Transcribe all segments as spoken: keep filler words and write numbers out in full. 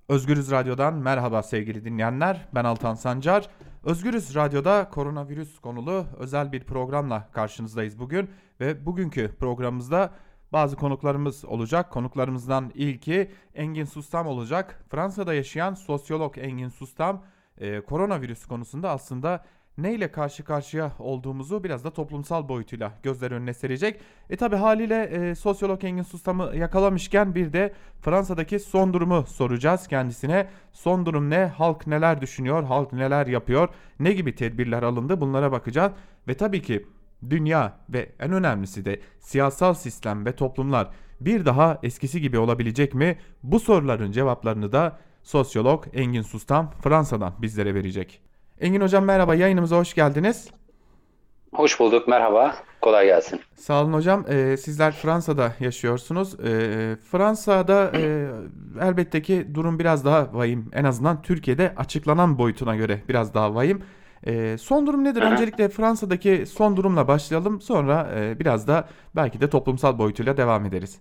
Özgürüz Radyo'dan merhaba sevgili dinleyenler. Ben Altan Sancar. Özgürüz Radyo'da koronavirüs konulu özel bir programla karşınızdayız bugün. Ve bugünkü programımızda bazı konuklarımız olacak. Konuklarımızdan ilki Engin Sustam olacak. Fransa'da yaşayan sosyolog Engin Sustam e, koronavirüs konusunda aslında neyle karşı karşıya olduğumuzu biraz da toplumsal boyutuyla gözler önüne serecek. E tabi haliyle e, sosyolog Engin Sustam'ı yakalamışken bir de Fransa'daki son durumu soracağız kendisine. Son durum ne? Halk neler düşünüyor? Halk neler yapıyor? Ne gibi tedbirler alındı? Bunlara bakacağız. Ve tabii ki dünya ve en önemlisi de siyasal sistem ve toplumlar bir daha eskisi gibi olabilecek mi? Bu soruların cevaplarını da sosyolog Engin Sustam Fransa'dan bizlere verecek. Engin Hocam merhaba, yayınımıza hoş geldiniz. Hoş bulduk, merhaba. Kolay gelsin. Sağ olun hocam. Ee, sizler Fransa'da yaşıyorsunuz. Ee, Fransa'da e, elbette ki durum biraz daha vahim. En azından Türkiye'de açıklanan boyutuna göre biraz daha vahim. Ee, son durum nedir? Hı hı. Öncelikle Fransa'daki son durumla başlayalım. Sonra e, biraz da belki de toplumsal boyutuyla devam ederiz.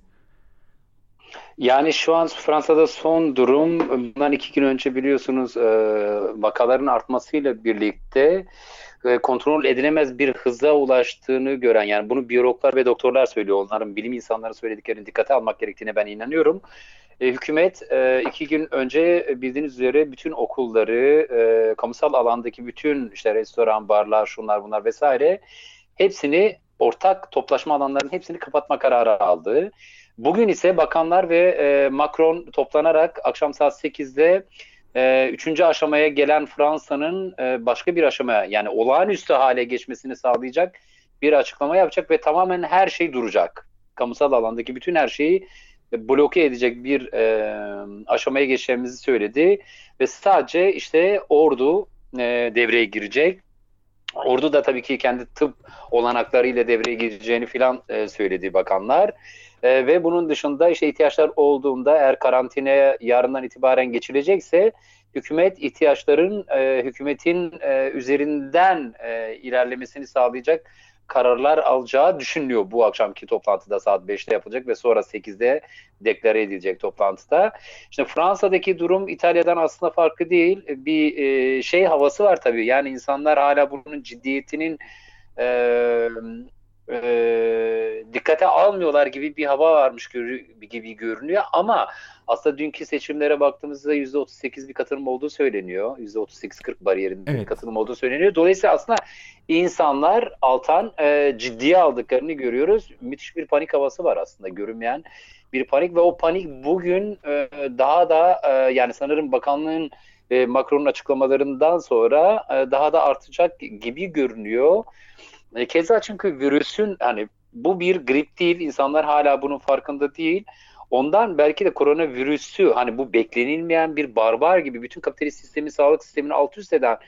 Yani şu an Fransa'da son durum, bundan iki gün önce biliyorsunuz e, vakaların artmasıyla birlikte e, kontrol edilemez bir hıza ulaştığını gören, yani bunu biyologlar ve doktorlar söylüyor. Onların, bilim insanları söylediklerini dikkate almak gerektiğine ben inanıyorum. E, hükümet e, iki gün önce e, bildiğiniz üzere bütün okulları, e, kamusal alandaki bütün işte restoran, barlar, şunlar bunlar vesaire hepsini, ortak toplaşma alanlarının hepsini kapatma kararı aldı. Bugün ise bakanlar ve e, Macron toplanarak akşam saat sekizde e, üçüncü aşamaya gelen Fransa'nın e, başka bir aşamaya, yani olağanüstü hale geçmesini sağlayacak bir açıklama yapacak ve tamamen her şey duracak. Kamusal alandaki bütün her şeyi e, bloke edecek bir e, aşamaya geçeceğimizi söyledi ve sadece işte ordu e, devreye girecek. Ordu da tabii ki kendi tıp olanaklarıyla devreye gireceğini filan e, söyledi bakanlar. E, ve bunun dışında işte ihtiyaçlar olduğunda, eğer karantinaya yarından itibaren geçilecekse, hükümet ihtiyaçların e, hükümetin e, üzerinden e, ilerlemesini sağlayacak kararlar alacağı düşünülüyor. Bu akşamki toplantıda saat beşte yapılacak ve sonra sekizde deklare edilecek toplantıda. İşte Fransa'daki durum İtalya'dan aslında farklı değil. Bir e, şey havası var tabii. Yani insanlar hala bunun ciddiyetinin e, e, dikkate almıyorlar gibi bir hava varmış gibi görünüyor. Ama aslında dünkü seçimlere baktığımızda yüzde otuz sekiz bir katılım olduğu söyleniyor. yüzde otuz sekiz kırk bariyerinde bir Evet. katılım olduğu söyleniyor. Dolayısıyla aslında insanlar Altan e, ciddiye aldıklarını görüyoruz. Müthiş bir panik havası var aslında, görünmeyen bir panik ve o panik bugün e, daha da e, yani sanırım bakanlığın e, Macron'un açıklamalarından sonra e, daha da artacak gibi görünüyor. E, keza çünkü virüsün, hani bu bir grip değil, insanlar hala bunun farkında değil. Ondan belki de koronavirüsü, hani bu beklenilmeyen bir barbar gibi bütün kapitalist sistemi, sağlık sistemini alt üst eden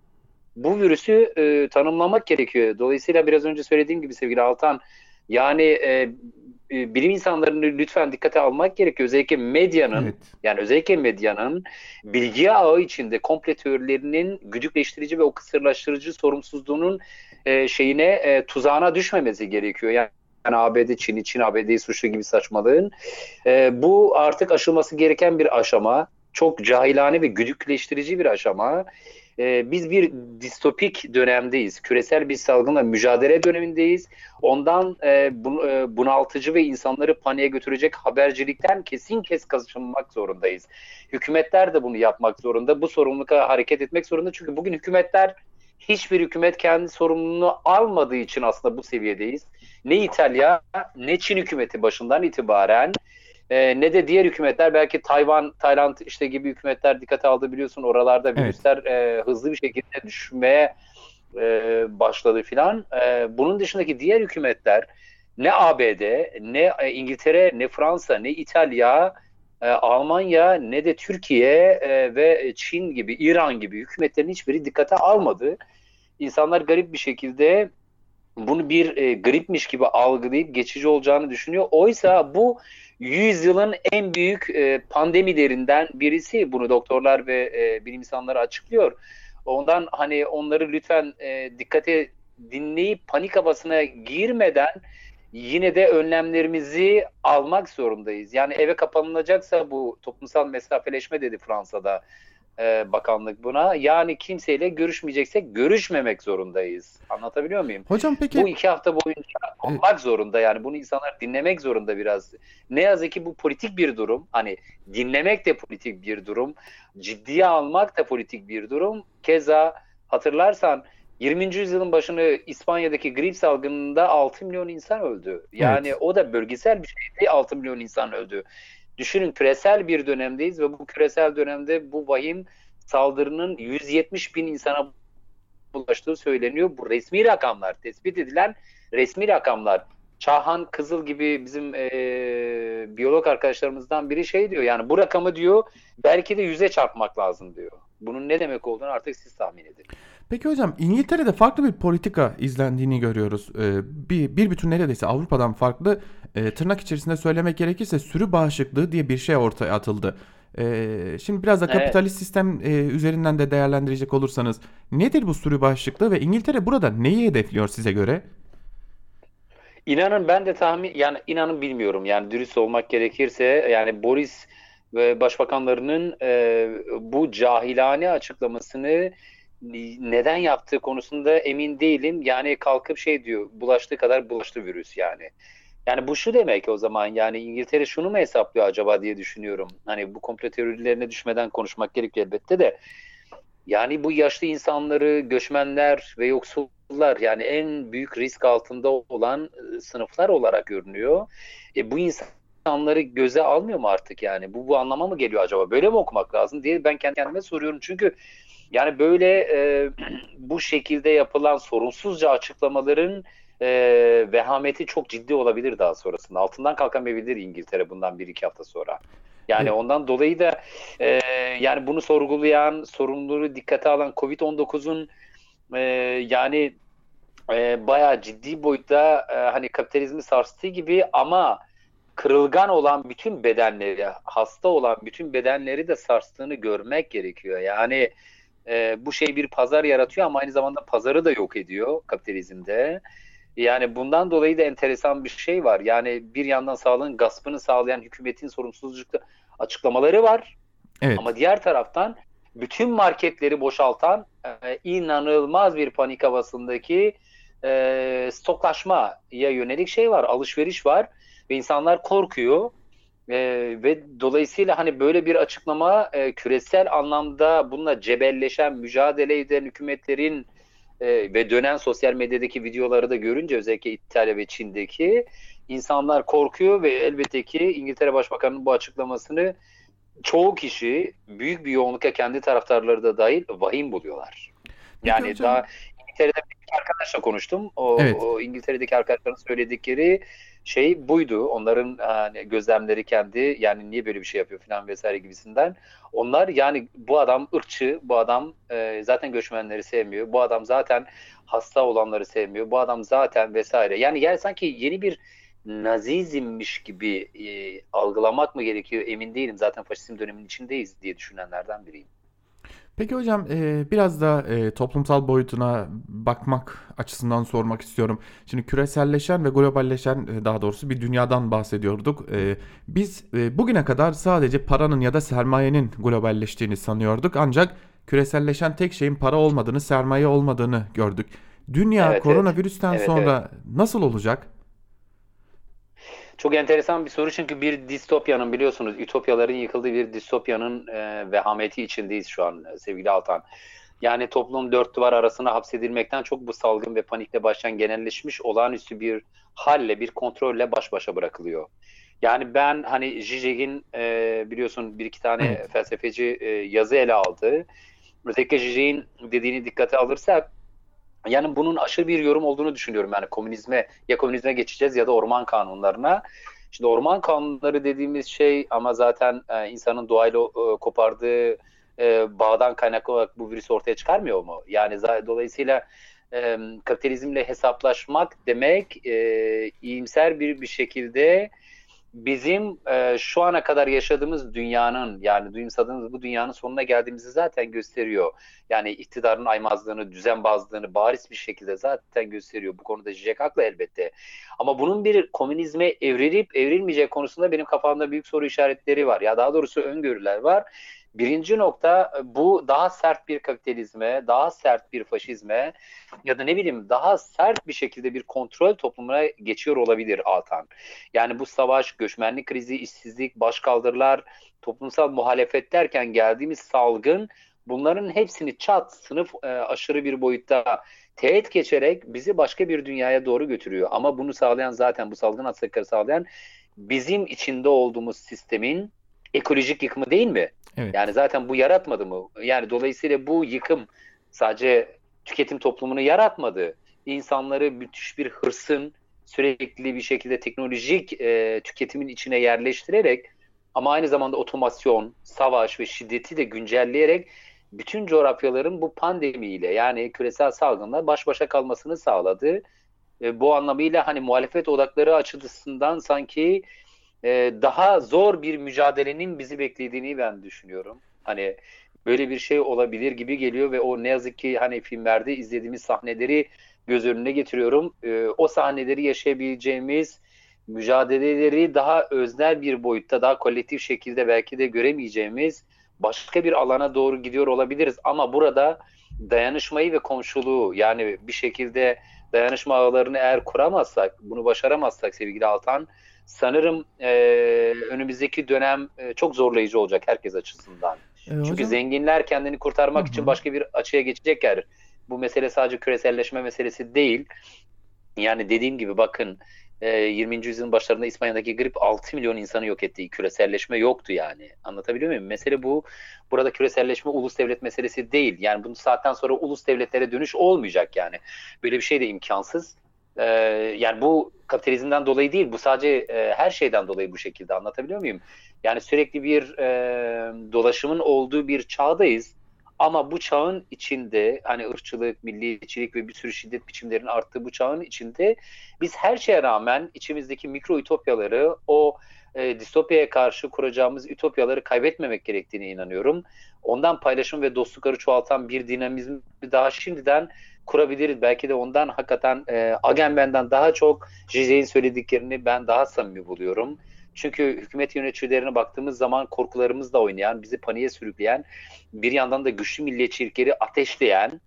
bu virüsü e, tanımlamak gerekiyor. Dolayısıyla biraz önce söylediğim gibi sevgili Altan, yani e, e, bilim insanlarını lütfen dikkate almak gerekiyor. Özellikle medyanın, Evet. yani özellikle medyanın bilgi ağı içinde komple teorilerinin güdükleştirici ve o kısırlaştırıcı sorumsuzluğunun e, şeyine e, tuzağına düşmemesi gerekiyor. Yani yani A B D, Çin'i, Çin A B D'yi suçlu gibi saçmalığın. E, bu artık aşılması gereken bir aşama. Çok cahilane ve güdükleştirici bir aşama. E, biz bir distopik dönemdeyiz. Küresel bir salgınla mücadele dönemindeyiz. Ondan e, bu, e, bunaltıcı ve insanları paniğe götürecek habercilikten kesin kes kaçınmak zorundayız. Hükümetler de bunu yapmak zorunda. Bu sorumlulukla hareket etmek zorunda. Çünkü bugün hükümetler, hiçbir hükümet kendi sorumluluğunu almadığı için aslında bu seviyedeyiz. Ne İtalya ne Çin hükümeti başından itibaren e, ne de diğer hükümetler, belki Tayvan, Tayland işte gibi hükümetler dikkate aldı, biliyorsun oralarda Evet. virüsler e, hızlı bir şekilde düşmeye e, başladı filan. E, bunun dışındaki diğer hükümetler, ne A B D, ne e, İngiltere, ne Fransa, ne İtalya, e, Almanya, ne de Türkiye e, ve Çin gibi, İran gibi hükümetlerin hiçbiri dikkate almadı. İnsanlar garip bir şekilde bunu bir e, gripmiş gibi algılayıp geçici olacağını düşünüyor. Oysa bu yüzyılın en büyük e, pandemilerinden birisi. Bunu doktorlar ve e, bilim insanları açıklıyor. Ondan hani onları lütfen e, dikkate dinleyip panik havasına girmeden, yine de önlemlerimizi almak zorundayız. Yani eve kapanılacaksa bu toplumsal mesafeleşme dedi Fransa'da e, bakanlık buna. Yani kimseyle görüşmeyeceksek görüşmemek zorundayız. Anlatabiliyor muyum? Hocam Bu peki iki hafta boyunca e, olmak zorunda yani. Bunu insanlar dinlemek zorunda biraz. Ne yazık ki bu politik bir durum. Hani dinlemek de politik bir durum. Ciddiye almak da politik bir durum. Keza hatırlarsan yirminci yüzyılın başını İspanya'daki grip salgınında altı milyon insan öldü. Yani evet. o da bölgesel bir şeydi, altı milyon insan öldü. Düşünün küresel bir dönemdeyiz ve bu küresel dönemde bu vahim saldırının yüz yetmiş bin insana ulaştığı söyleniyor. Bu resmi rakamlar, tespit edilen resmi rakamlar. Çağhan Kızıl gibi bizim e, biyolog arkadaşlarımızdan biri şey diyor, yani bu rakamı diyor belki de yüze çarpmak lazım diyor. Bunun ne demek olduğunu artık siz tahmin edin. Peki hocam İngiltere'de farklı bir politika izlendiğini görüyoruz. Ee, bir, bir bütün neredeyse Avrupa'dan farklı e, tırnak içerisinde söylemek gerekirse sürü bağışıklığı diye bir şey ortaya atıldı. Ee, şimdi biraz da Evet. kapitalist sistem e, üzerinden de değerlendirecek olursanız nedir bu sürü bağışıklığı ve İngiltere burada neyi hedefliyor size göre? İnanın ben de tahmin yani inanın bilmiyorum yani dürüst olmak gerekirse yani Boris ve başbakanlarının e, bu cahilane açıklamasını neden yaptığı konusunda emin değilim. Yani kalkıp şey diyor bulaştığı kadar bulaştı virüs yani. Yani bu şu demek o zaman yani İngiltere şunu mu hesaplıyor acaba diye düşünüyorum. Hani bu komplo teorilerine düşmeden konuşmak gerekiyor elbette de. Yani bu yaşlı insanları, göçmenler ve yoksullar yani en büyük risk altında olan e, sınıflar olarak görünüyor. E, bu insanları göze almıyor mu artık yani? Bu bu anlama mı geliyor acaba? Böyle mi okumak lazım diye ben kendi kendime soruyorum. Çünkü yani böyle e, bu şekilde yapılan sorunsuzca açıklamaların e, vehameti çok ciddi olabilir daha sonrasında. Altından kalkamayabilir İngiltere bundan bir iki hafta sonra. Yani E, ondan dolayı da e, yani bunu sorgulayan, sorumluluğu dikkate alan covid on dokuzun e, yani e, bayağı ciddi boyutta e, hani kapitalizmi sarstığı gibi ama kırılgan olan bütün bedenleri, hasta olan bütün bedenleri de sarstığını görmek gerekiyor. Yani e, bu şey bir pazar yaratıyor ama aynı zamanda pazarı da yok ediyor kapitalizmde. Yani bundan dolayı da enteresan bir şey var. Yani bir yandan sağlığın gaspını sağlayan hükümetin sorumsuzlukla açıklamaları var. evet. Ama diğer taraftan bütün marketleri boşaltan e, inanılmaz bir panik havasındaki e, stoklaşmaya yönelik şey var, alışveriş var ve insanlar korkuyor. E, ve dolayısıyla hani böyle bir açıklama e, küresel anlamda bununla cebelleşen, mücadele eden hükümetlerin e, ve dönen sosyal medyadaki videoları da görünce özellikle İtalya ve Çin'deki insanlar korkuyor ve elbette ki İngiltere Başbakanı'nın bu açıklamasını çoğu kişi büyük bir yoğunlukla kendi taraftarları da dahil vahim buluyorlar. Peki Yani daha hocam. İngiltere'de bir arkadaşla konuştum. O, Evet. o İngiltere'deki arkadaşların söyledikleri şey buydu. Onların hani gözlemleri kendi yani niye böyle bir şey yapıyor falan vesaire gibisinden. Onlar yani bu adam ırkçı, bu adam e, zaten göçmenleri sevmiyor. Bu adam zaten hasta olanları sevmiyor. Bu adam zaten vesaire. Yani yani sanki yeni bir Nazizmmiş gibi e, algılamak mı gerekiyor emin değilim. Zaten faşizm döneminin içindeyiz diye düşünenlerden biriyim. Peki hocam e, biraz da e, toplumsal boyutuna bakmak açısından sormak istiyorum. Şimdi küreselleşen ve globalleşen e, daha doğrusu bir dünyadan bahsediyorduk. E, biz e, bugüne kadar sadece paranın ya da sermayenin globalleştiğini sanıyorduk. Ancak küreselleşen tek şeyin para olmadığını, sermaye olmadığını gördük. Dünya Evet, evet. koronavirüsten Evet, evet. sonra nasıl olacak? Çok enteresan bir soru çünkü bir distopyanın biliyorsunuz ütopyaların yıkıldığı bir distopyanın e, vehameti içindeyiz şu an e, sevgili Altan. Yani toplum dört duvar arasına hapsedilmekten çok bu salgın ve panikle başlayan genelleşmiş olağanüstü bir halle, bir kontrolle baş başa bırakılıyor. Yani ben hani Zizek'in e, biliyorsun bir iki tane Evet. felsefeci e, yazı ele aldı. Özellikle Zizek'in dediğini dikkate alırsak yani bunun aşırı bir yorum olduğunu düşünüyorum. Yani komünizme ya komünizme geçeceğiz ya da orman kanunlarına. Şimdi orman kanunları dediğimiz şey ama zaten e, insanın doğayla e, kopardığı e, bağdan kaynaklı olarak bu virüsü ortaya çıkarmıyor mu? Yani za- dolayısıyla e, kapitalizmle hesaplaşmak demek e, iyimser bir bir şekilde bizim e, şu ana kadar yaşadığımız dünyanın, yani duyumsadığımız bu dünyanın sonuna geldiğimizi zaten gösteriyor. Yani iktidarın aymazlığını, düzenbazlığını bariz bir şekilde zaten gösteriyor. Bu konuda Zizek haklı elbette. Ama bunun bir komünizme evrilip evrilmeyeceği konusunda benim kafamda büyük soru işaretleri var. Ya daha doğrusu öngörüler var. Birinci nokta, bu daha sert bir kapitalizme, daha sert bir faşizme ya da ne bileyim daha sert bir şekilde bir kontrol toplumuna geçiyor olabilir Altan. Yani bu savaş, göçmenlik krizi, işsizlik, başkaldırılar, toplumsal muhalefet derken geldiğimiz salgın, bunların hepsini çat, sınıf e, aşırı bir boyutta teğet geçerek bizi başka bir dünyaya doğru götürüyor. Ama bunu sağlayan, zaten bu salgın hastalıkları sağlayan bizim içinde olduğumuz sistemin ekolojik yıkımı değil mi? Yani Evet. zaten bu yaratmadı mı? Yani dolayısıyla bu yıkım sadece tüketim toplumunu yaratmadı. İnsanları müthiş bir hırsın, sürekli bir şekilde teknolojik e, tüketimin içine yerleştirerek, ama aynı zamanda otomasyon, savaş ve şiddeti de güncelleyerek bütün coğrafyaların bu pandemiyle, yani küresel salgınla baş başa kalmasını sağladı. E, bu anlamıyla hani muhalefet odakları açısından sanki e, daha zor bir mücadelenin bizi beklediğini ben düşünüyorum. Hani böyle bir şey olabilir gibi geliyor ve o ne yazık ki hani filmlerde izlediğimiz sahneleri göz önüne getiriyorum. E, o sahneleri yaşayabileceğimiz mücadeleleri daha öznel bir boyutta, daha kolektif şekilde belki de göremeyeceğimiz başka bir alana doğru gidiyor olabiliriz. Ama burada dayanışmayı ve komşuluğu, yani bir şekilde dayanışma ağlarını eğer kuramazsak, bunu başaramazsak sevgili Altan, sanırım e, önümüzdeki dönem e, çok zorlayıcı olacak herkes açısından. E, Çünkü hocam. zenginler kendini Hı kurtarmak için hı. başka bir açıya geçecekler. Bu mesele sadece küreselleşme meselesi değil. Yani dediğim gibi bakın, e, yirminci yüzyılın başlarında İspanya'daki grip altı milyon insanı yok etti. Küreselleşme yoktu yani. Anlatabiliyor muyum? Mesele bu. Burada küreselleşme ulus devlet meselesi değil. Yani bu saatten sonra ulus devletlere dönüş olmayacak yani. Böyle bir şey de imkansız. E, Yani bu kapitalizmden dolayı değil. Bu sadece e, her şeyden dolayı bu şekilde. Anlatabiliyor muyum? Yani sürekli bir e, dolaşımın olduğu bir çağdayız. Ama bu çağın içinde, hani ırkçılık, milliyetçilik ve bir sürü şiddet biçimlerinin arttığı bu çağın içinde biz her şeye rağmen içimizdeki mikro ütopyaları, o e, distopyaya karşı kuracağımız ütopyaları kaybetmemek gerektiğine inanıyorum. Ondan paylaşım ve dostlukları çoğaltan bir dinamizmi daha şimdiden kurabiliriz. Belki de ondan hakikaten e, Agamben'den daha çok Zizek'in söylediklerini ben daha samimi buluyorum. Çünkü hükümet yöneticilerine baktığımız zaman korkularımızla oynayan, bizi paniğe sürükleyen, bir yandan da güçlü milliyetçilikleri ateşleyen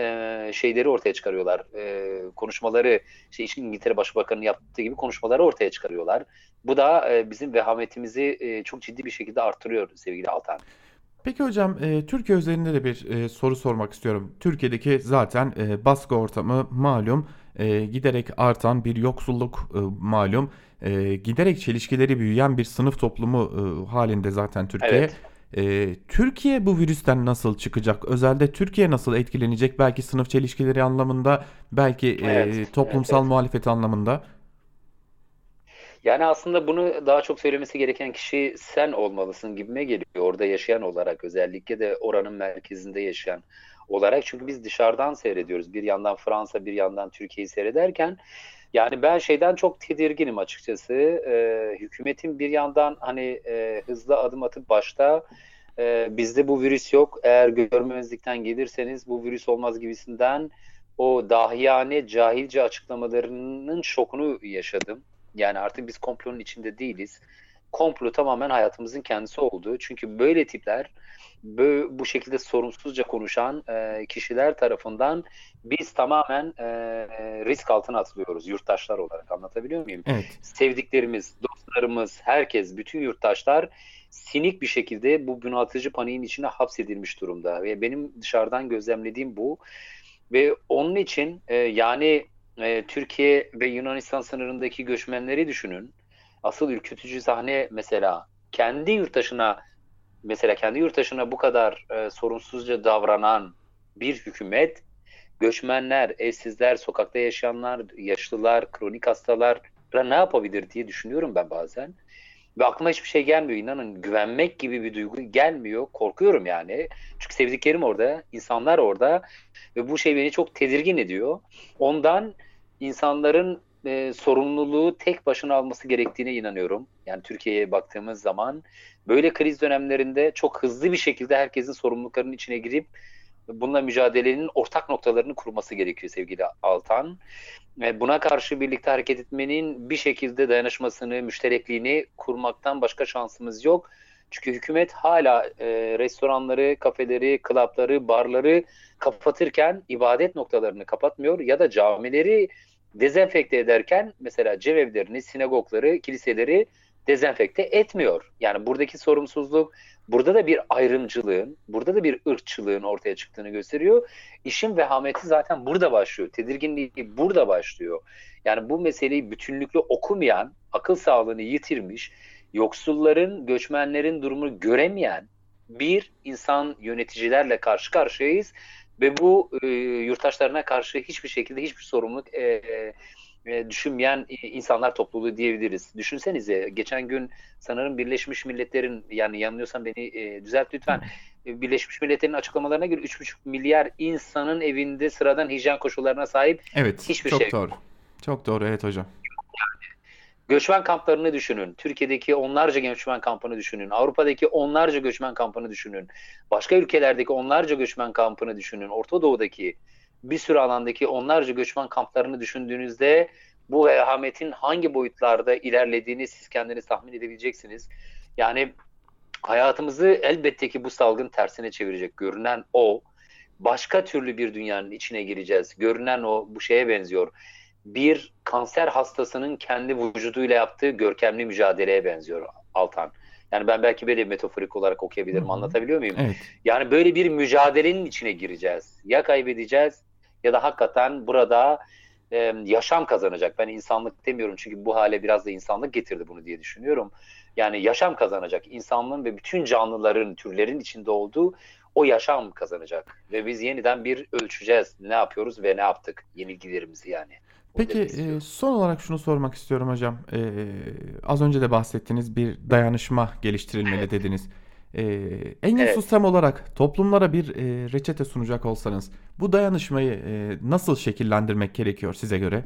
e, şeyleri ortaya çıkarıyorlar. E, konuşmaları, işte İngiltere Başbakanı'nın yaptığı gibi konuşmaları ortaya çıkarıyorlar. Bu da e, bizim vehametimizi e, çok ciddi bir şekilde artırıyor sevgili Altan. Peki hocam, e, Türkiye üzerinde de bir e, soru sormak istiyorum. Türkiye'deki zaten e, baskı ortamı malum, e, giderek artan bir yoksulluk e, malum, e, giderek çelişkileri büyüyen bir sınıf toplumu e, halinde zaten Türkiye. Evet, E, Türkiye bu virüsten nasıl çıkacak? Özelde Türkiye nasıl etkilenecek? Belki sınıf çelişkileri anlamında, belki evet, e, evet, toplumsal evet. muhalefet anlamında. Yani aslında bunu daha çok söylemesi gereken kişi sen olmalısın gibime geliyor. Orada yaşayan olarak, özellikle de oranın merkezinde yaşayan olarak. Çünkü biz dışarıdan seyrediyoruz. Bir yandan Fransa, bir yandan Türkiye'yi seyrederken, yani ben şeyden çok tedirginim açıkçası. Ee, hükümetin bir yandan hani e, hızlı adım atıp başta e, bizde bu virüs yok, eğer görmemezlikten gelirseniz bu virüs olmaz gibisinden o dahiyane, cahilce açıklamalarının şokunu yaşadım. Yani artık biz komplonun içinde değiliz. Komplo tamamen hayatımızın kendisi oldu. Çünkü böyle tipler, bu, bu şekilde sorumsuzca konuşan e, kişiler tarafından biz tamamen e, risk altına atılıyoruz yurttaşlar olarak. Anlatabiliyor muyum? Evet. Sevdiklerimiz, dostlarımız, herkes, bütün yurttaşlar sinik bir şekilde bu bunaltıcı paniğin içine hapsedilmiş durumda. Ve benim dışarıdan gözlemlediğim bu. Ve onun için e, yani e, Türkiye ve Yunanistan sınırındaki göçmenleri düşünün. Asıl ürkütücü sahne mesela kendi yurttaşına, mesela kendi yurttaşına bu kadar e, sorumsuzca davranan bir hükümet, göçmenler, evsizler, sokakta yaşayanlar, yaşlılar, kronik hastalara ne yapabilir diye düşünüyorum ben bazen. Ve aklıma hiçbir şey gelmiyor. İnanın, güvenmek gibi bir duygu gelmiyor. Korkuyorum yani. Çünkü sevdiklerim orada, insanlar orada ve bu şey beni çok tedirgin ediyor. Ondan insanların e, sorumluluğu tek başına alması gerektiğine inanıyorum. Yani Türkiye'ye baktığımız zaman böyle kriz dönemlerinde çok hızlı bir şekilde herkesin sorumluluklarının içine girip bununla mücadelenin ortak noktalarını kurması gerekiyor sevgili Altan. E, Buna karşı birlikte hareket etmenin bir şekilde dayanışmasını, müşterekliğini kurmaktan başka şansımız yok. Çünkü hükümet hala e, restoranları, kafeleri, klapları, barları kapatırken ibadet noktalarını kapatmıyor ya da camileri dezenfekte ederken mesela cevevlerini, sinagogları, kiliseleri dezenfekte etmiyor. Yani buradaki sorumsuzluk, burada da bir ayrımcılığın, burada da bir ırkçılığın ortaya çıktığını gösteriyor. İşin vehameti zaten burada başlıyor. Tedirginliği burada başlıyor. Yani bu meseleyi bütünlüklü okumayan, akıl sağlığını yitirmiş, yoksulların, göçmenlerin durumunu göremeyen bir insan yöneticilerle karşı karşıyayız ve bu e, yurttaşlarına karşı hiçbir şekilde hiçbir sorumluluk e, e, düşünmeyen insanlar topluluğu diyebiliriz. Düşünsenize geçen gün sanırım Birleşmiş Milletler'in, yani yanılıyorsam beni e, düzelt lütfen, e, Birleşmiş Milletler'in açıklamalarına göre üç buçuk milyar insanın evinde sıradan hijyen koşullarına sahip Evet, hiçbir şey çok yok. doğru. Çok doğru, evet hocam. Göçmen kamplarını düşünün. Türkiye'deki onlarca göçmen kampını düşünün. Avrupa'daki onlarca göçmen kampını düşünün. Başka ülkelerdeki onlarca göçmen kampını düşünün. Orta Doğu'daki bir sürü alandaki onlarca göçmen kamplarını düşündüğünüzde bu vehametin hangi boyutlarda ilerlediğini siz kendiniz tahmin edebileceksiniz. Yani hayatımızı elbette ki bu salgın tersine çevirecek. Görünen o. Başka türlü bir dünyanın içine gireceğiz. Görünen o, bu şeye benziyor. Bir kanser hastasının kendi vücuduyla yaptığı görkemli mücadeleye benziyor Altan. Yani ben belki böyle metaforik olarak Hı okuyabilirim. hı. Anlatabiliyor muyum? Evet. Yani böyle bir mücadelenin içine gireceğiz. Ya kaybedeceğiz ya da hakikaten burada e, yaşam kazanacak. Ben insanlık demiyorum çünkü bu hale biraz da insanlık getirdi bunu diye düşünüyorum. Yani yaşam kazanacak. İnsanlığın ve bütün canlıların, türlerin içinde olduğu o yaşam kazanacak. Ve biz yeniden bir ölçeceğiz. Ne yapıyoruz ve ne yaptık? Yenilgilerimizi yani. Bunu Peki demek e, istiyorum. son olarak şunu sormak istiyorum hocam. E, az önce de bahsettiniz, bir dayanışma geliştirilmeli Evet. dediniz. E, Engin Evet. Sustam olarak toplumlara bir e, reçete sunacak olsanız bu dayanışmayı e, nasıl şekillendirmek gerekiyor size göre?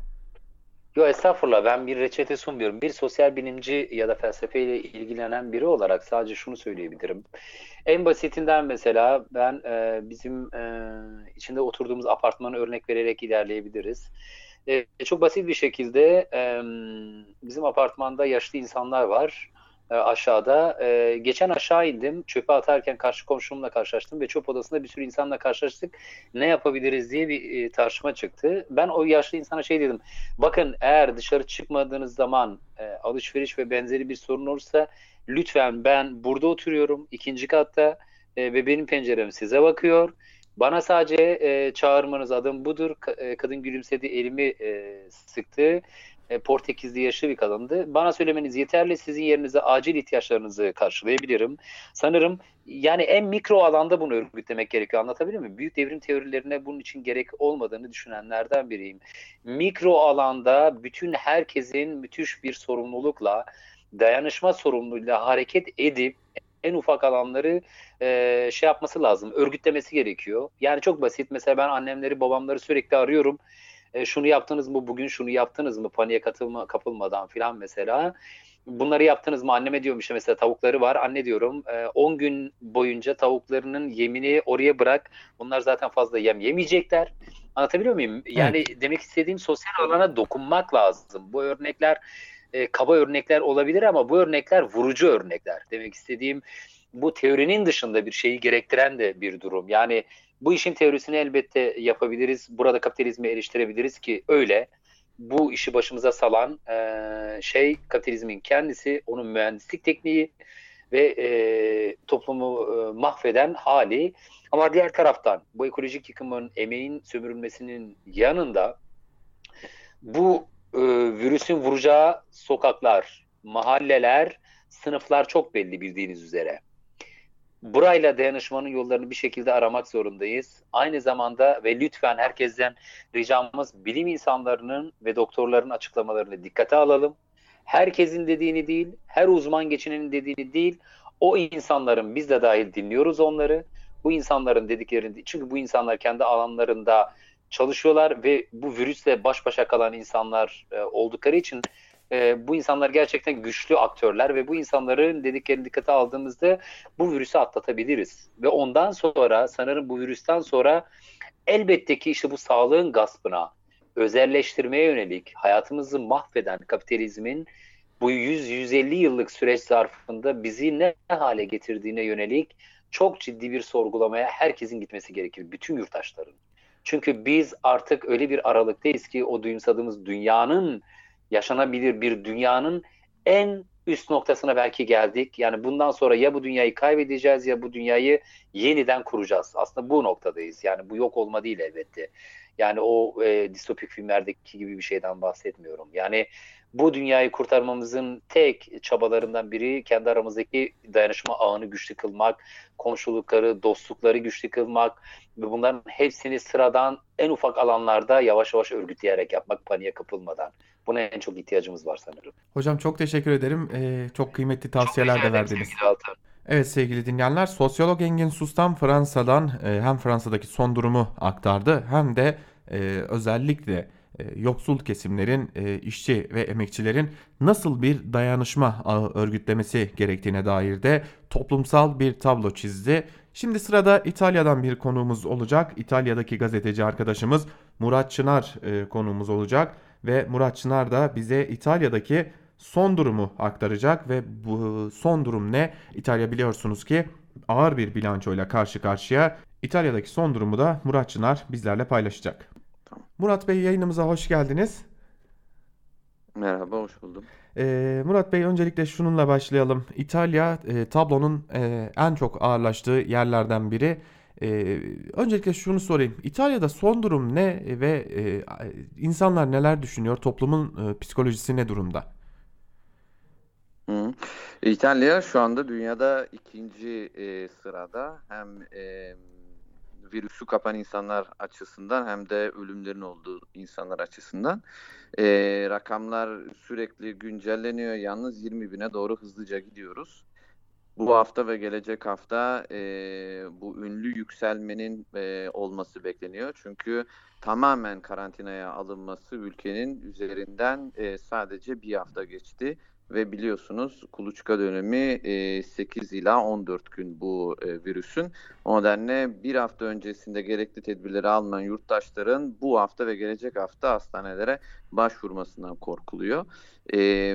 Yo, estağfurullah, ben bir reçete sunmuyorum. Bir sosyal bilimci ya da felsefeyle ilgilenen biri olarak sadece şunu söyleyebilirim. En basitinden mesela ben e, bizim e, içinde oturduğumuz apartmanı örnek vererek ilerleyebiliriz. E, çok basit bir şekilde e, bizim apartmanda yaşlı insanlar var e, aşağıda. E, geçen aşağı indim. Çöpe atarken karşı komşumla karşılaştım ve çöp odasında bir sürü insanla karşılaştık. Ne yapabiliriz diye bir e, tartışma çıktı. Ben o yaşlı insana şey dedim. Bakın, eğer dışarı çıkmadığınız zaman e, alışveriş ve benzeri bir sorun olursa lütfen, ben burada oturuyorum ikinci katta e, ve benim pencerem size bakıyor. Bana sadece e, çağırmanız, adım budur. Ka- e, kadın gülümsedi, elimi e, sıktı. E, Portekizli yaşlı bir kadındı. Bana söylemeniz yeterli. Sizin yerinize acil ihtiyaçlarınızı karşılayabilirim. Sanırım yani en mikro alanda bunu örgütlemek gerekiyor. Anlatabiliyor muyum? Büyük devrim teorilerine bunun için gerek olmadığını düşünenlerden biriyim. Mikro alanda bütün herkesin müthiş bir sorumlulukla, dayanışma sorumluluğuyla hareket edip en ufak alanları e, şey yapması lazım, örgütlemesi gerekiyor. Yani çok basit. Mesela ben annemleri, babamları sürekli arıyorum. E, şunu yaptınız mı bugün, şunu yaptınız mı, paniğe katılma, kapılmadan filan mesela. Bunları yaptınız mı? Anneme diyorum işte, mesela tavukları var. Anne diyorum, e, on gün boyunca tavuklarının yemini oraya bırak. Bunlar zaten fazla yem yemeyecekler. Anlatabiliyor muyum? Evet. Yani demek istediğim, sosyal alana dokunmak lazım. Bu örnekler e, kaba örnekler olabilir ama bu örnekler vurucu örnekler. Demek istediğim, bu teorinin dışında bir şeyi gerektiren de bir durum. Yani bu işin teorisini elbette yapabiliriz. Burada kapitalizmi eleştirebiliriz ki öyle. Bu işi başımıza salan e, şey kapitalizmin kendisi, onun mühendislik tekniği ve e, toplumu e, mahveden hali. Ama diğer taraftan bu ekolojik yıkımın, emeğin sömürülmesinin yanında bu e, virüsün vuracağı sokaklar, mahalleler, sınıflar çok belli, bildiğiniz üzere. Burayla dayanışmanın yollarını bir şekilde aramak zorundayız. Aynı zamanda ve lütfen herkesten ricamız, bilim insanlarının ve doktorların açıklamalarını dikkate alalım. Herkesin dediğini değil, her uzman geçinenin dediğini değil, o insanların, biz de dahil dinliyoruz onları. Bu insanların dediklerini, çünkü bu insanlar kendi alanlarında çalışıyorlar ve bu virüsle baş başa kalan insanlar e, oldukları için e, bu insanlar gerçekten güçlü aktörler ve bu insanların dediklerini dikkate aldığımızda bu virüsü atlatabiliriz. Ve ondan sonra sanırım bu virüsten sonra elbette ki işte bu sağlığın gaspına, özelleştirmeye yönelik hayatımızı mahveden kapitalizmin bu yüz yüz elli yıllık süreç zarfında bizi ne hale getirdiğine yönelik çok ciddi bir sorgulamaya herkesin gitmesi gerekir. Bütün yurttaşların. Çünkü biz artık öyle bir aralıktayız ki o duyumsadığımız dünyanın yaşanabilir bir dünyanın en üst noktasına belki geldik. Yani bundan sonra ya bu dünyayı kaybedeceğiz ya bu dünyayı yeniden kuracağız. Aslında bu noktadayız. Yani bu yok olma değil elbette. Yani o e, distopik filmlerdeki gibi bir şeyden bahsetmiyorum. Yani bu dünyayı kurtarmamızın tek çabalarından biri kendi aramızdaki dayanışma ağını güçlü kılmak, komşulukları, dostlukları güçlü kılmak ve bunların hepsini sıradan en ufak alanlarda yavaş yavaş örgütleyerek yapmak, paniğe kapılmadan. Buna en çok ihtiyacımız var sanırım. Hocam çok teşekkür ederim. Ee, çok kıymetli Çok tavsiyeler rica de ederim verdiniz. sevgili Altan. Evet sevgili dinleyenler, sosyolog Engin Sus'tan Fransa'dan e, hem Fransa'daki son durumu aktardı hem de e, özellikle e, yoksul kesimlerin, e, işçi ve emekçilerin nasıl bir dayanışma ağı örgütlemesi gerektiğine dair de toplumsal bir tablo çizdi. Şimdi sırada İtalya'dan bir konuğumuz olacak. İtalya'daki gazeteci arkadaşımız Murat Çınar e, konuğumuz olacak ve Murat Çınar da bize İtalya'daki son durumu aktaracak ve bu son durum ne? İtalya biliyorsunuz ki ağır bir bilançoyla karşı karşıya. İtalya'daki son durumu da Murat Çınar bizlerle paylaşacak. Tamam. Murat Bey, yayınımıza hoş geldiniz. Merhaba, hoş buldum. Ee, Murat Bey, öncelikle şununla başlayalım. İtalya e, tablonun e, en çok ağırlaştığı yerlerden biri. E, öncelikle şunu sorayım. İtalya'da son durum ne ve e, insanlar neler düşünüyor? Toplumun e, psikolojisi ne durumda? Hı. İtalya şu anda dünyada ikinci e, sırada hem e, virüsü kapan insanlar açısından hem de ölümlerin olduğu insanlar açısından. E, rakamlar sürekli güncelleniyor. Yalnız yirmi bine doğru hızlıca gidiyoruz. Bu hafta ve gelecek hafta e, bu ünlü yükselmenin e, olması bekleniyor. Çünkü tamamen karantinaya alınması ülkenin üzerinden e, sadece bir hafta geçti. Ve biliyorsunuz kuluçka dönemi e, sekiz ila on dört gün bu e, virüsün. O nedenle bir hafta öncesinde gerekli tedbirleri alınan yurttaşların bu hafta ve gelecek hafta hastanelere başvurmasından korkuluyor. Ee,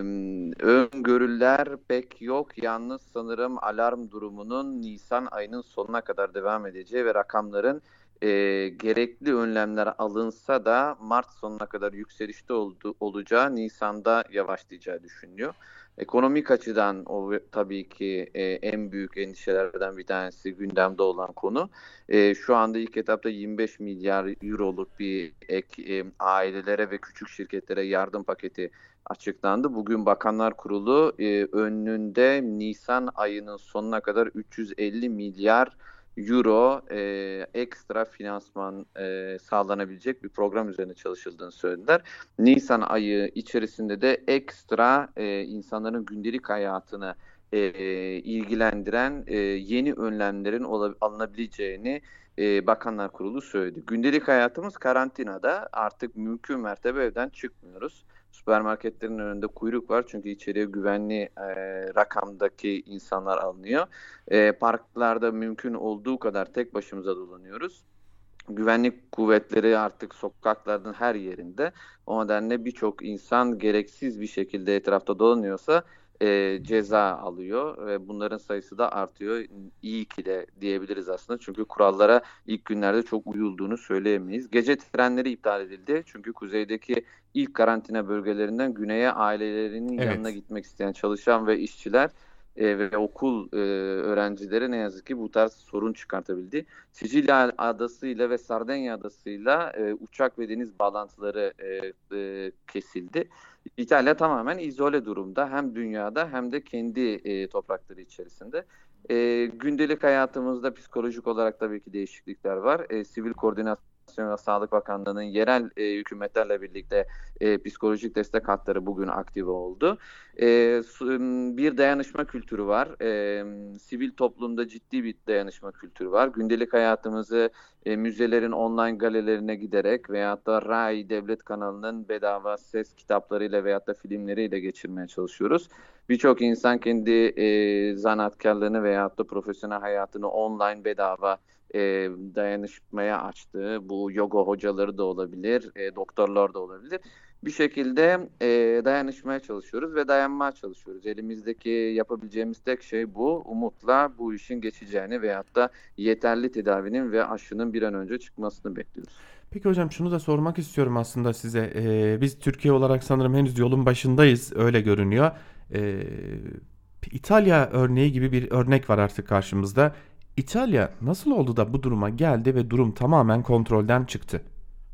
öngörüler pek yok. Yalnız sanırım alarm durumunun Nisan ayının sonuna kadar devam edeceği ve rakamların e, gerekli önlemler alınsa da Mart sonuna kadar yükselişte oldu, olacağı, Nisan'da yavaşlayacağı düşünülüyor. Ekonomik açıdan o tabii ki e, en büyük endişelerden bir tanesi gündemde olan konu. E, şu anda ilk etapta yirmi beş milyar euroluk bir ek e, ailelere ve küçük şirketlere yardım paketi açıklandı. Bugün Bakanlar Kurulu e, önünde Nisan ayının sonuna kadar üç yüz elli milyar euro e, ekstra finansman e, sağlanabilecek bir program üzerine çalışıldığını söylediler. Nisan ayı içerisinde de ekstra e, insanların gündelik hayatını e, ilgilendiren e, yeni önlemlerin ola, alınabileceğini e, Bakanlar Kurulu söyledi. Gündelik hayatımız karantinada, artık mümkün mertebe evden çıkmıyoruz. Süpermarketlerin önünde kuyruk var çünkü içeriye güvenli e, rakamdaki insanlar alınıyor. E, parklarda mümkün olduğu kadar tek başımıza dolanıyoruz. Güvenlik kuvvetleri artık sokakların her yerinde. O nedenle birçok insan gereksiz bir şekilde etrafta dolanıyorsa e, ceza alıyor ve bunların sayısı da artıyor. İyi ki de diyebiliriz aslında. Çünkü kurallara ilk günlerde çok uyulduğunu söyleyemeyiz. Gece trenleri iptal edildi. Çünkü kuzeydeki ilk karantina bölgelerinden güneye ailelerinin Evet. yanına gitmek isteyen çalışan ve işçiler e, ve okul e, öğrencileri ne yazık ki bu tarz sorun çıkartabildi. Sicilya adasıyla ve Sardinya adasıyla e, uçak ve deniz bağlantıları e, e, kesildi. İtalya tamamen izole durumda, hem dünyada hem de kendi e, toprakları içerisinde. E, gündelik hayatımızda psikolojik olarak tabii ki değişiklikler var. E, sivil koordinasyon ve Sağlık Bakanlığı'nın yerel e, hükümetlerle birlikte e, psikolojik destek hatları bugün aktive oldu. E, bir dayanışma kültürü var. E, sivil toplumda ciddi bir dayanışma kültürü var. Gündelik hayatımızı e, müzelerin online galerilerine giderek veyahut da Rai Devlet kanalının bedava ses kitaplarıyla veyahut da filmleriyle geçirmeye çalışıyoruz. Birçok insan kendi e, zanaatkarlığını veyahut da profesyonel hayatını online bedava e, dayanışmaya açtı. Bu yoga hocaları da olabilir, e, doktorlar da olabilir. Bir şekilde e, dayanışmaya çalışıyoruz ve dayanmaya çalışıyoruz. Elimizdeki yapabileceğimiz tek şey bu. Umutla bu işin geçeceğini veyahut da yeterli tedavinin ve aşının bir an önce çıkmasını bekliyoruz. Peki hocam şunu da sormak istiyorum aslında size. Ee, biz Türkiye olarak sanırım henüz yolun başındayız, öyle görünüyor. Ee, İtalya örneği gibi bir örnek var artık karşımızda. İtalya nasıl oldu da bu duruma geldi ve durum tamamen kontrolden çıktı?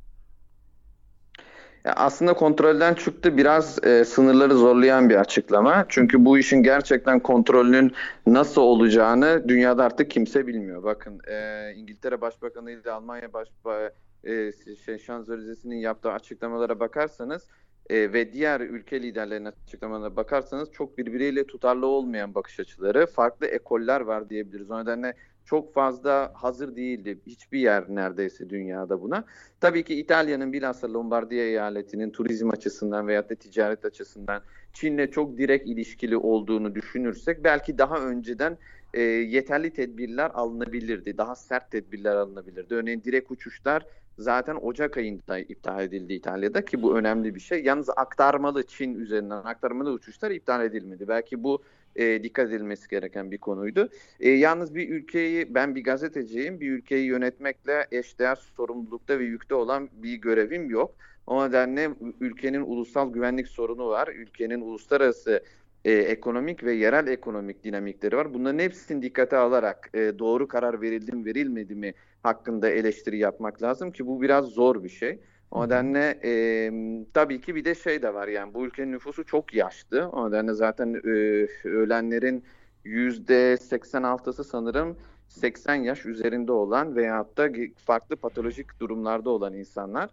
Ya aslında kontrolden çıktı, biraz e, sınırları zorlayan bir açıklama. Çünkü bu işin gerçekten kontrolünün nasıl olacağını dünyada artık kimse bilmiyor. Bakın e, İngiltere Başbakanı ile Almanya Başbakanı e, şey, Şanzölizesi'nin yaptığı açıklamalara bakarsanız e, ve diğer ülke liderlerinin açıklamalarına bakarsanız çok birbiriyle tutarlı olmayan bakış açıları, farklı ekoller var diyebiliriz. O nedenle çok fazla hazır değildi hiçbir yer neredeyse dünyada buna. Tabii ki İtalya'nın bilhassa Lombardiya eyaletinin turizm açısından veyahut da ticaret açısından Çin'le çok direkt ilişkili olduğunu düşünürsek belki daha önceden e, yeterli tedbirler alınabilirdi. Daha sert tedbirler alınabilirdi. Örneğin direkt uçuşlar zaten Ocak ayında iptal edildi İtalya'da ki bu önemli bir şey. Yalnız aktarmalı Çin üzerinden aktarmalı uçuşlar iptal edilmedi. Belki bu e, dikkat edilmesi gereken bir konuydu. E, yalnız bir ülkeyi, ben bir gazeteciyim, bir ülkeyi yönetmekle eşdeğer sorumlulukta ve yükte olan bir görevim yok. O nedenle ülkenin ulusal güvenlik sorunu var. Ülkenin uluslararası e, ekonomik ve yerel ekonomik dinamikleri var. Bunların hepsini dikkate alarak e, doğru karar verildi mi verilmedi mi hakkında eleştiri yapmak lazım ki bu biraz zor bir şey. O nedenle e, tabii ki bir de şey de var, yani bu ülkenin nüfusu çok yaşlı. O nedenle zaten e, ölenlerin yüzde seksen altısı sanırım seksen yaş üzerinde olan veyahut da farklı patolojik durumlarda olan insanlar.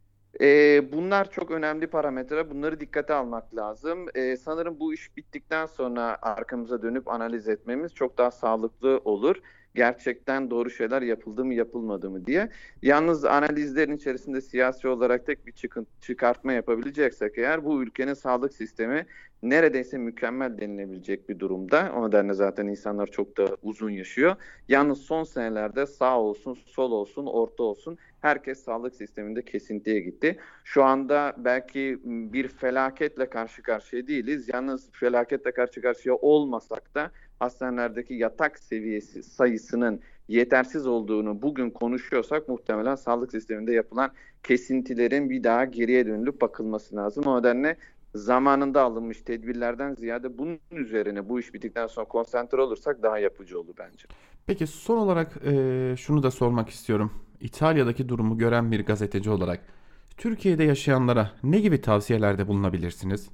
Ee, bunlar çok önemli parametre. Bunları dikkate almak lazım. Ee, sanırım bu iş bittikten sonra arkamıza dönüp analiz etmemiz çok daha sağlıklı olur. Gerçekten doğru şeyler yapıldı mı yapılmadı mı diye. Yalnız analizlerin içerisinde siyasi olarak tek bir çıkın, çıkartma yapabileceksek eğer bu ülkenin sağlık sistemi neredeyse mükemmel denilebilecek bir durumda. O nedenle zaten insanlar çok da uzun yaşıyor. Yalnız son senelerde sağ olsun, sol olsun, orta olsun herkes sağlık sisteminde kesintiye gitti. Şu anda belki bir felaketle karşı karşıya değiliz. Yalnız felaketle karşı karşıya olmasak da hastanelerdeki yatak seviyesi sayısının yetersiz olduğunu bugün konuşuyorsak muhtemelen sağlık sisteminde yapılan kesintilerin bir daha geriye dönülüp bakılması lazım. O nedenle zamanında alınmış tedbirlerden ziyade bunun üzerine bu iş bittikten sonra konsantre olursak daha yapıcı olur bence. Peki son olarak e, şunu da sormak istiyorum. İtalya'daki durumu gören bir gazeteci olarak Türkiye'de yaşayanlara ne gibi tavsiyelerde bulunabilirsiniz?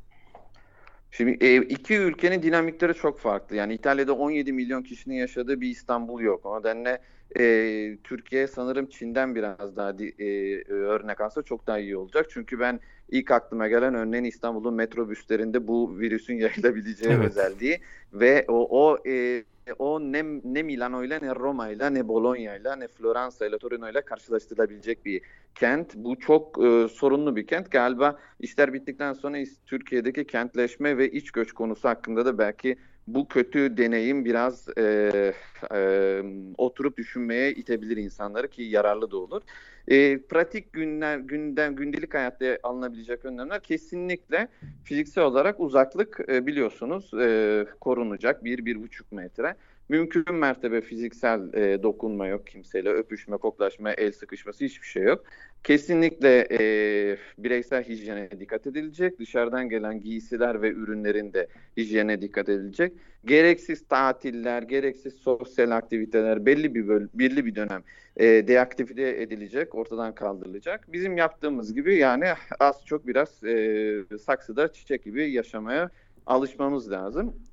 Şimdi e, iki ülkenin dinamikleri çok farklı. Yani İtalya'da on yedi milyon kişinin yaşadığı bir İstanbul yok. O nedenle e, Türkiye sanırım Çin'den biraz daha e, örnek alsa çok daha iyi olacak. Çünkü ben ilk aklıma gelen örneğin İstanbul'un metrobüslerinde bu virüsün yayılabileceği Evet. özelliği ve o o e, o ne, ne Milano'yla ne Roma'yla ne Bologna'yla ne Floransa'yla Torino'yla karşılaştırılabilecek bir kent. Bu çok e, sorunlu bir kent. Galiba işler bittikten sonra Türkiye'deki kentleşme ve iç göç konusu hakkında da belki bu kötü deneyim biraz e, e, oturup düşünmeye itebilir insanları ki yararlı da olur. E, pratik günler, gündem, gündelik hayatta alınabilecek önlemler kesinlikle fiziksel olarak uzaklık e, biliyorsunuz e, korunacak bir, bir buçuk metre. Mümkün mertebe fiziksel e, dokunma yok kimseyle, öpüşme, koklaşma, el sıkışması hiçbir şey yok. Kesinlikle e, bireysel hijyene dikkat edilecek. Dışarıdan gelen giysiler ve ürünlerin de hijyene dikkat edilecek. Gereksiz tatiller, gereksiz sosyal aktiviteler belli bir böl- belli bir dönem e, deaktive edilecek, ortadan kaldırılacak. Bizim yaptığımız gibi yani az çok biraz e, saksıda çiçek gibi yaşamaya alışmamız lazım.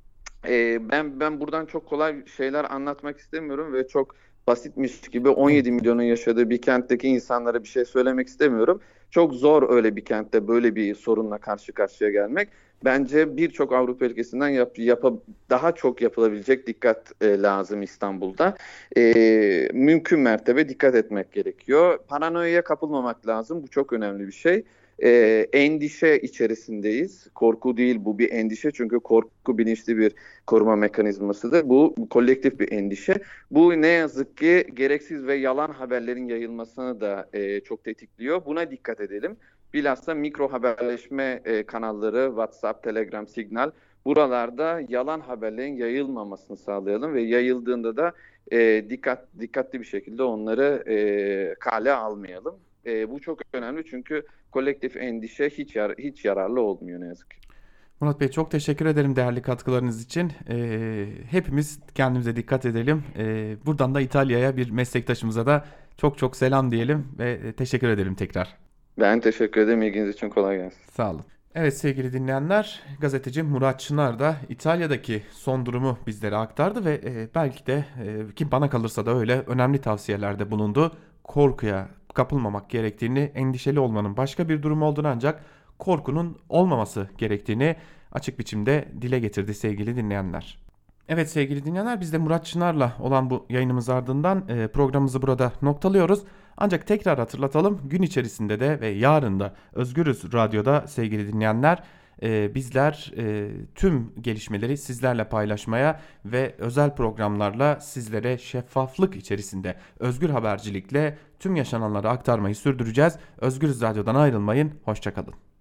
e, ben ben buradan çok kolay şeyler anlatmak istemiyorum ve çok basitmiş gibi on yedi milyonun yaşadığı bir kentteki insanlara bir şey söylemek istemiyorum. Çok zor öyle bir kentte böyle bir sorunla karşı karşıya gelmek. Bence birçok Avrupa ülkesinden yap, yapa, daha çok yapılabilecek dikkat e, lazım İstanbul'da. E, mümkün mertebe dikkat etmek gerekiyor. Paranoyaya kapılmamak lazım. Bu çok önemli bir şey. E, endişe içerisindeyiz. Korku değil, bu bir endişe, çünkü korku bilinçli bir koruma mekanizmasıdır. Bu, bu kolektif bir endişe. Bu ne yazık ki gereksiz ve yalan haberlerin yayılmasını da e, çok tetikliyor. Buna dikkat edelim. Bilhassa mikro haberleşme e, kanalları, WhatsApp, Telegram, Signal, buralarda yalan haberlerin yayılmamasını sağlayalım ve yayıldığında da e, dikkat dikkatli bir şekilde onları e, kale almayalım. E, bu çok önemli, çünkü kolektif endişe hiç yar hiç yararlı olmuyor ne yazık ki. Murat Bey, çok teşekkür ederim değerli katkılarınız için. Ee, hepimiz kendimize dikkat edelim. Ee, buradan da İtalya'ya, bir meslektaşımıza da çok çok selam diyelim ve teşekkür ederim tekrar. Ben teşekkür ederim. İlginiz için kolay gelsin. Sağ olun. Evet sevgili dinleyenler, gazeteci Murat Çınar da İtalya'daki son durumu bizlere aktardı ve e, belki de e, ki bana kalırsa da öyle önemli tavsiyelerde bulundu. Korkuya kapılmamak gerektiğini, endişeli olmanın başka bir durum olduğunu, ancak korkunun olmaması gerektiğini açık biçimde dile getirdi sevgili dinleyenler. Evet sevgili dinleyenler, biz de Murat Çınar'la olan bu yayınımız ardından e, programımızı burada noktalıyoruz. Ancak tekrar hatırlatalım, gün içerisinde de ve yarın da Özgürüz Radyo'da sevgili dinleyenler e, bizler e, tüm gelişmeleri sizlerle paylaşmaya ve özel programlarla sizlere şeffaflık içerisinde özgür habercilikle tüm yaşananları aktarmayı sürdüreceğiz. Özgürüz Radyo'dan ayrılmayın, hoşça kalın.